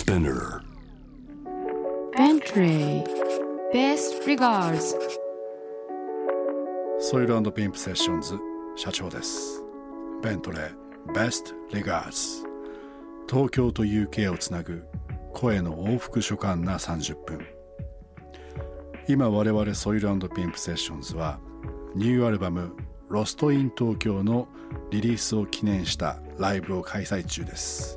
Spinner Bentley Best Regards ソイル&ピンプセッションズ社長です。ベントレー Best Regards 東京と UK をつなぐ声の往復書簡な30分。今我々ソイル&ピンプセッションズはニューアルバムロストイン東京のリリースを記念したライブを開催中です。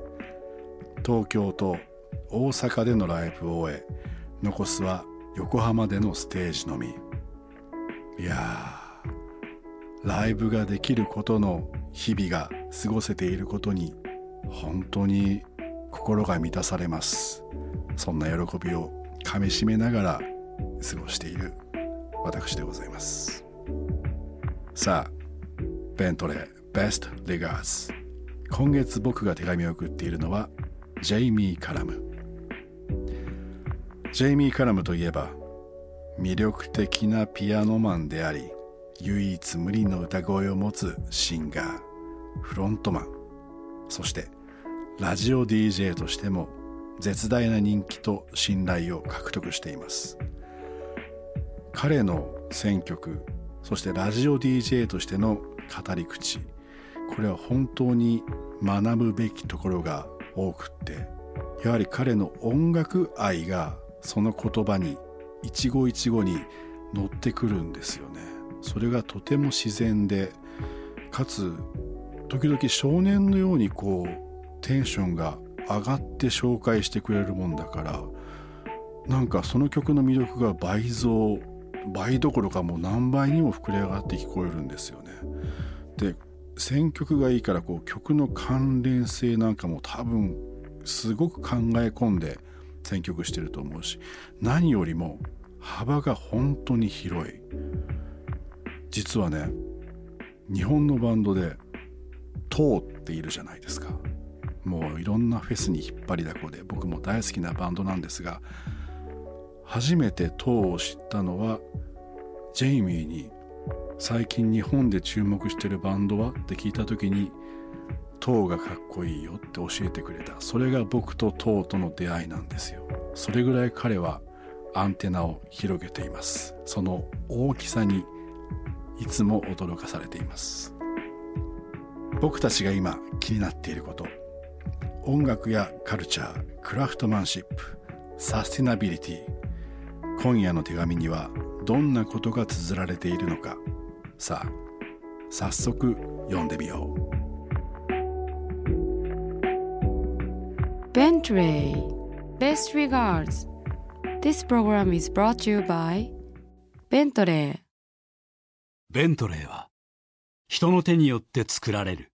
東京と大阪でのライブを終え、残すは横浜でのステージのみ。いやー、ライブができることの日々が過ごせていることに本当に心が満たされます。そんな喜びをかみしめながら過ごしている私でございます。さあ、ベントレー Best Regards。 今月僕が手紙を送っているのはジェイミー・カラム。ジェイミー・カラムといえば魅力的なピアノマンであり、唯一無二の歌声を持つシンガー、フロントマン、そしてラジオ DJ としても絶大な人気と信頼を獲得しています。彼の選曲、そしてラジオ DJ としての語り口、これは本当に学ぶべきところが多くって、やはり彼の音楽愛がその言葉に一語一語に乗ってくるんですよね。それがとても自然で、かつ時々少年のようにテンションが上がって紹介してくれるもんだから、なんかその曲の魅力が倍どころかもう何倍にも膨れ上がって聞こえるんですよね。で、選曲がいいから曲の関連性なんかも多分すごく考え込んで選曲してると思うし、何よりも幅が本当に広い。実はね、日本のバンドでTOOっているじゃないですか。もういろんなフェスに引っ張りだこで僕も大好きなバンドなんですが、初めてTOOを知ったのはジェイミーに最近日本で注目してるバンドはって聞いた時に、TOOがかっこいいよって教えてくれた。それが僕とTOOとの出会いなんですよ。それぐらい彼はアンテナを広げています。その大きさにいつも驚かされています。僕たちが今気になっていること、音楽やカルチャー、クラフトマンシップ、サスティナビリティ。今夜の手紙にはどんなことが綴られているのか。さあ、早速読んでみよう。 Bentley Best Regards. This program is brought to you by Bentley. ベントレーは人の手によって作られる。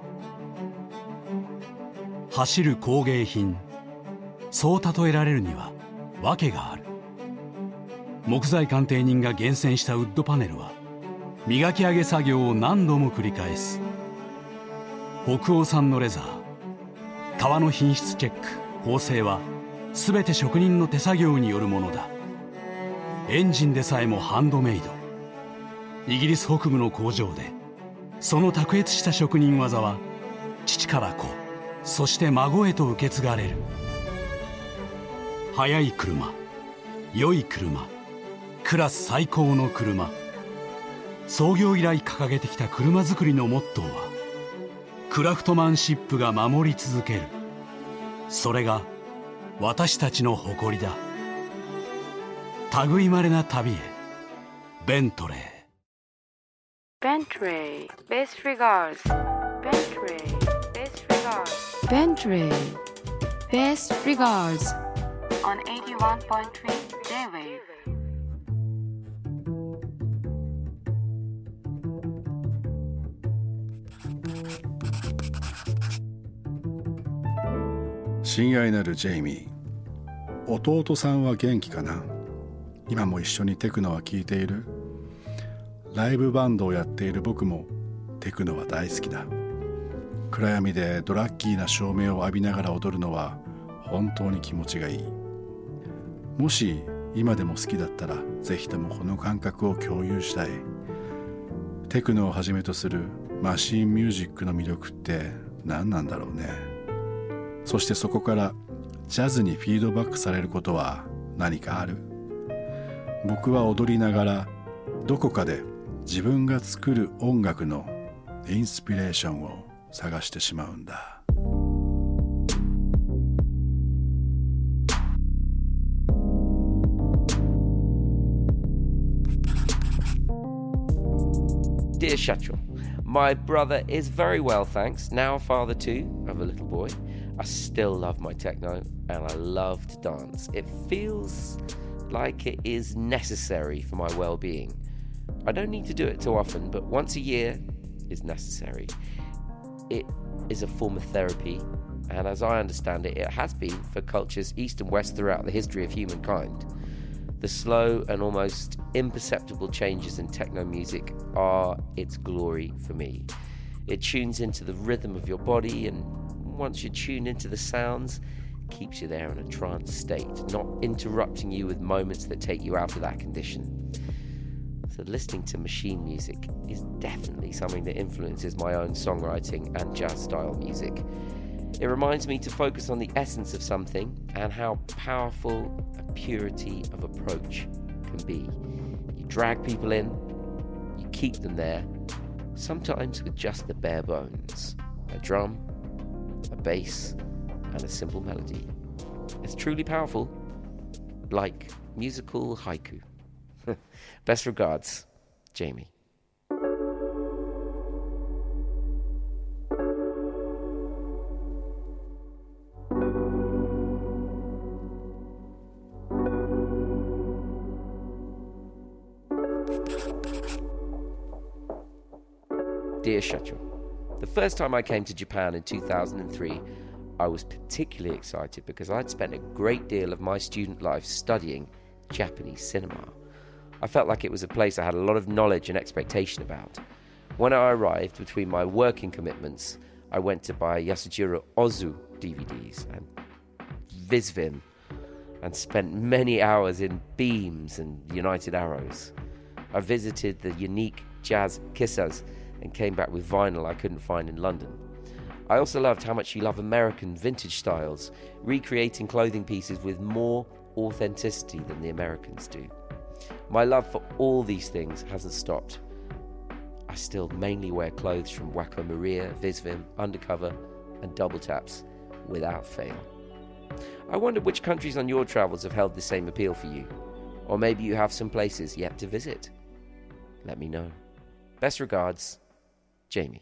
走る工芸品、そう例えられるには訳がある。木材鑑定人が厳選したウッドパネルは磨き上げ作業を何度も繰り返す。北欧産のレザー、革の品質チェック、縫製は全て職人の手作業によるものだ。エンジンでさえもハンドメイド。イギリス北部の工場でその卓越した職人技は父から子、そして孫へと受け継がれる。速い車、良い車、クラス最高の車。創業以来掲げてきた車作りのモットーはクラフトマンシップが守り続ける。それが私たちの誇りだ。類まれな旅へ、ベントレー。 Bentley Best Regards. Bentley Best Regards. Bentley Best Regards on 81.3 J-Wave. 親愛なるジェイミー、弟さんは元気かな。今も一緒にテクノは聴いている。ライブバンドをやっている僕もテクノは大好きだ。暗闇でドラッキーな照明を浴びながら踊るのは本当に気持ちがいい。もし今でも好きだったらぜひともこの感覚を共有したい。テクノをはじめとするマシンミュージックの魅力って何なんだろうね。そしてそこからジャズにフィードバックされることは何かある？僕は踊りながらどこかで自分が作る音楽のインスピレーションを探してしまうんだ。 Dear Shachel, my brother is very well, thanks. Now a father too of a little boy. I still love my techno and I love to dance. It feels like it is necessary for my well-being. I don't need to do it too often, but once a year is necessary. It is a form of therapy, and as I understand it, it has been for cultures east and west throughout the history of humankind. The slow and almost imperceptible changes in techno music are its glory for me. It tunes into the rhythm of your body, and once you tune into the sounds, keeps you there in a trance state, not interrupting you with moments that take you out of that condition. So listening to machine music is definitely something that influences my own songwriting and jazz style music. It reminds me to focus on the essence of something and how powerful a purity of approach can be. You drag people in, you keep them there, sometimes with just the bare bones, a drum, a bass, and a simple melody. It's truly powerful, like musical haiku. Best regards, Jamie. Dear Shachel, the first time I came to Japan in 2003, I was particularly excited because I'd spent a great deal of my student life studying Japanese cinema. I felt like it was a place I had a lot of knowledge and expectation about. When I arrived, between my working commitments, I went to buy Yasujiro Ozu DVDs and Visvim and spent many hours in Beams and United Arrows. I visited the unique jazz kissas and came back with vinyl I couldn't find in London. I also loved how much you love American vintage styles, recreating clothing pieces with more authenticity than the Americans do. My love for all these things hasn't stopped. I still mainly wear clothes from Wacko Maria, Visvim, Undercover and Double Taps without fail. I wonder which countries on your travels have held the same appeal for you, or maybe you have some places yet to visit. Let me know. Best regards, Jamie.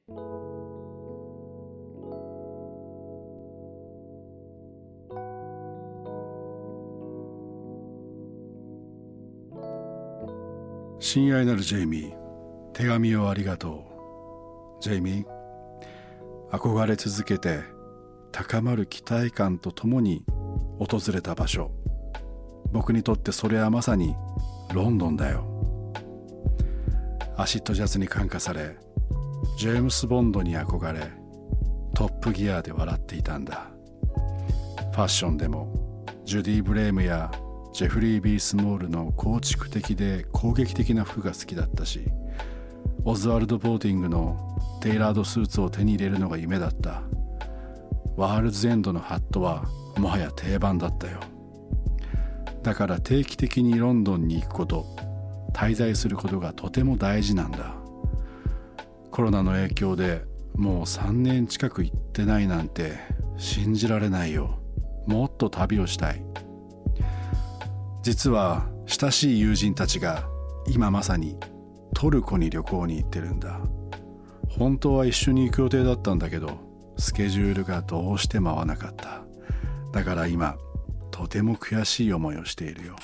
親愛なるジェイミー、手紙をありがとう。ジェイミー、憧れ続けて高まる期待感とともに訪れた場所、僕にとってそれはまさにロンドンだよ。アシッドジャズに感化され、ジェームス・ボンドに憧れ、トップギアで笑っていたんだ。ファッションでもジュディ・ブレームやジェフリー・ビー・スモールの構築的で攻撃的な服が好きだったし、オズワルド・ボーティングのテイラードスーツを手に入れるのが夢だった。ワールズ・エンドのハットはもはや定番だったよ。だから定期的にロンドンに行くこと、滞在することがとても大事なんだ。コロナの影響でもう3年近く行ってないなんて信じられないよ。もっと旅をしたい。実は親しい友人たちが今まさにトルコに旅行に行ってるんだ。本当は一緒に行く予定だったんだけど、スケジュールがどうしても合わなかった。だから今とても悔しい思いをしているよ。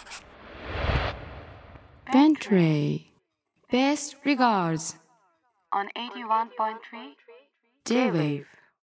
Bentley Best regards on 81.3 J-Wave。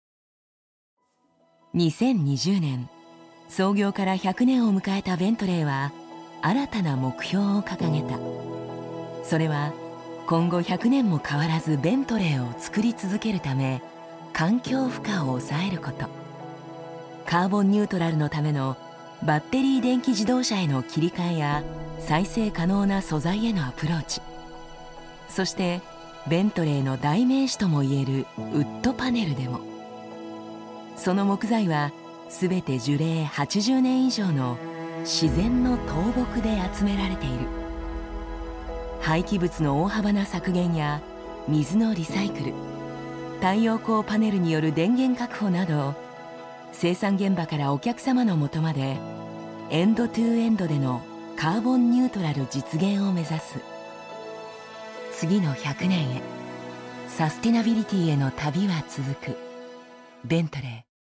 2020年、創業から100年を迎えたベントレーは新たな目標を掲げた。それは今後100年も変わらずベントレーを作り続けるため、環境負荷を抑えること、カーボンニュートラルのためのバッテリー電気自動車への切り替えや再生可能な素材へのアプローチ、そしてベントレーの代名詞ともいえるウッドパネルでも、その木材はすべて樹齢80年以上の自然の倒木で集められている。廃棄物の大幅な削減や水のリサイクル、太陽光パネルによる電源確保など、生産現場からお客様の元までエンドトゥエンドでのカーボンニュートラル実現を目指す。次の100年へ、サスティナビリティへの旅は続く。ベントレー。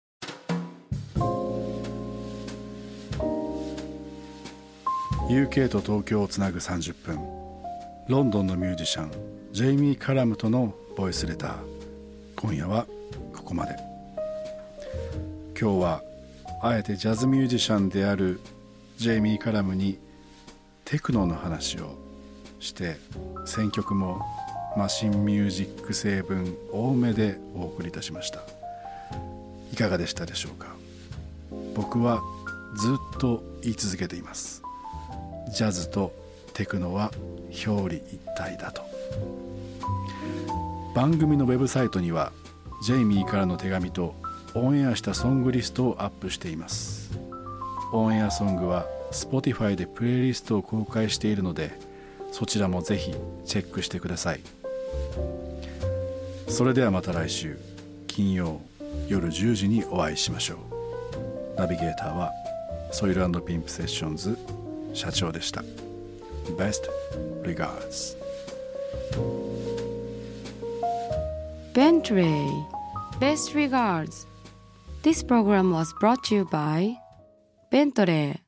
UK と東京をつなぐ30分、ロンドンのミュージシャンジェイミー・カラムとのボイスレター。今夜はここまで。今日はあえてジャズミュージシャンであるジェイミー・カラムにテクノの話をして、選曲もマシンミュージック成分多めでお送りいたしました。いかがでしたでしょうか。僕はずっと言い続けています。ジャズとテクノは表裏一体だと。番組のウェブサイトにはジェイミーからの手紙とオンエアしたソングリストをアップしています。オンエアソングは Spotify でプレイリストを公開しているので、そちらもぜひチェックしてください。それではまた来週金曜夜10時にお会いしましょう。ナビゲーターはソイル&ピンプセッションズ社長でした。Best regards. Bentley. Best regards. This program was brought to you by Bentley.